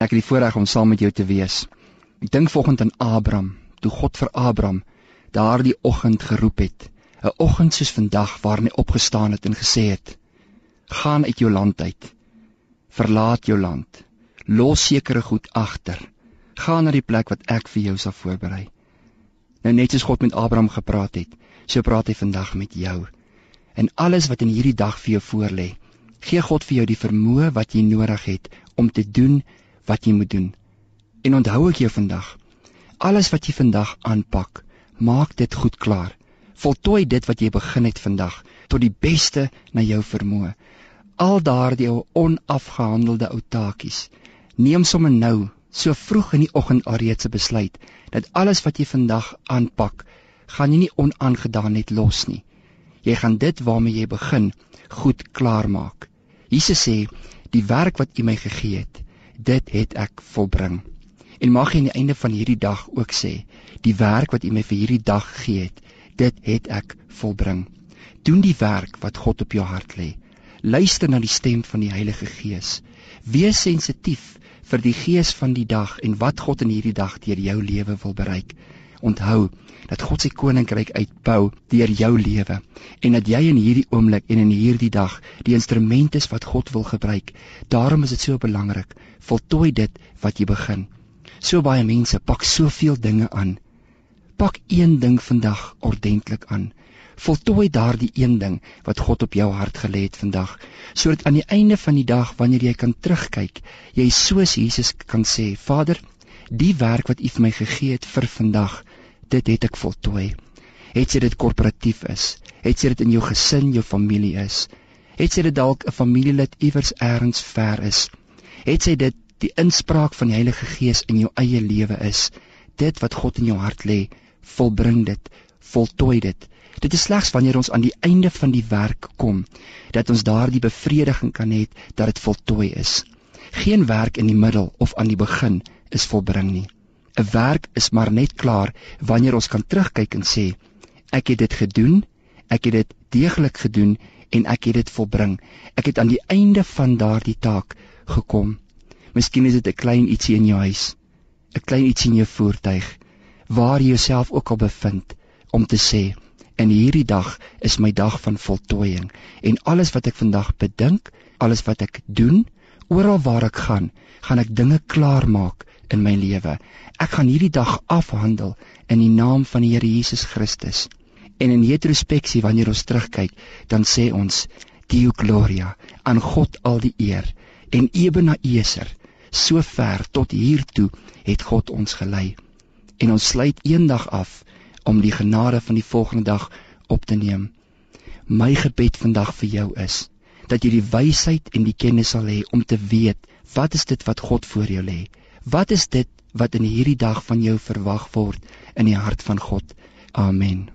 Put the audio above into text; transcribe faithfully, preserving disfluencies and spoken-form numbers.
Ek het die voorreg om saam met jou te wees. Ek dink vanoggend aan Abraham, toe God vir Abraham daardie oggend geroep het. 'n Oggend soos vandag waarin hy opgestaan het en gesê het: gaan uit jou land uit, verlaat jou land, los sekere goed agter, gaan na die plek wat ek vir jou sal voorberei. Nou net soos God met Abraham gepraat het, so praat hy vandag met jou. En alles wat in hierdie dag vir jou voorlê, gee God vir jou die vermoë wat jy nodig het om te doen wat jy moet doen. En onthou ek jou vandag, alles wat jy vandag aanpak, maak dit goed klaar. Voltooi dit wat jy begin het vandag, tot die beste na jou vermoë. Al daardie ou onafgehandelde ou taakies, neem sommer nou, so vroeg in die oggend alreeds 'n besluit, dat alles wat jy vandag aanpak, gaan jy nie onaangedaan net los nie. Jy gaan dit waarmee jy begin, goed klaar maak. Jesus sê, die werk wat U my gegee het, dit het ek volbring. En mag jy aan die einde van hierdie dag ook sê, die werk wat U my vir hierdie dag gegee het, dit het ek volbring. Doen die werk wat God op jou hart lê. Luister na die stem van die Heilige Gees. Wees sensitief vir die gees van die dag en wat God in hierdie dag deur jou lewe wil bereik. Onthou dat God sy koninkryk uitbou deur jou lewe en dat jy in hierdie oomblik en in hierdie dag die instrument is wat God wil gebruik. Daarom is dit so belangrik. Voltooi dit wat jy begin. So baie mense pak soveel dinge aan. Pak een ding vandag ordentlik aan. Voltooi daardie een ding wat God op jou hart gelê het vandag, sodat aan die einde van die dag, wanneer jy kan terugkyk, jy soos Jesus kan sê, Vader, die werk wat U vir my gegee het vir vandag, dit het ek voltooi. Het sy dit korporatief is, het sy dit in jou gesin, jou familie is, het sy dit dalk 'n familielid iewers ergens ver is, het sy dit die inspraak van die Heilige Gees in jou eie lewe is, dit wat God in jou hart lê, volbring dit, voltooi dit. Dit is slegs wanneer ons aan die einde van die werk kom, dat ons daar die bevrediging kan hê dat dit voltooi is. Geen werk in die middel of aan die begin is volbring nie. 'n Werk is maar net klaar wanneer ons kan terugkyk en sê, ek het dit gedoen, ek het dit deeglik gedoen en ek het dit volbring. Ek het aan die einde van daardie taak gekom. Miskien is dit 'n klein ietsie in jou huis, 'n klein ietsie in jou voertuig, waar jy jouself ook al bevind, om te sê, en hierdie dag is my dag van voltooiing, en alles wat ek vandag bedink, alles wat ek doen, oral waar ek gaan, gaan ek dinge klaar maak in my lewe. Ek gaan hierdie dag afhandel in die naam van die Here Jesus Christus. En in retrospeksie, wanneer ons terugkyk, dan sê ons, Deo Gloria, aan God al die eer, en Ebenezer, so ver tot hiertoe het God ons gelei. En ons sluit eendag af, om die genade van die volgende dag op te neem. My gebed vandag vir jou is, dat jy die wysheid en die kennis sal hê om te weet, wat is dit wat God voor jou lê? Wat is dit wat in hierdie dag van jou verwag word in die hart van God? Amen.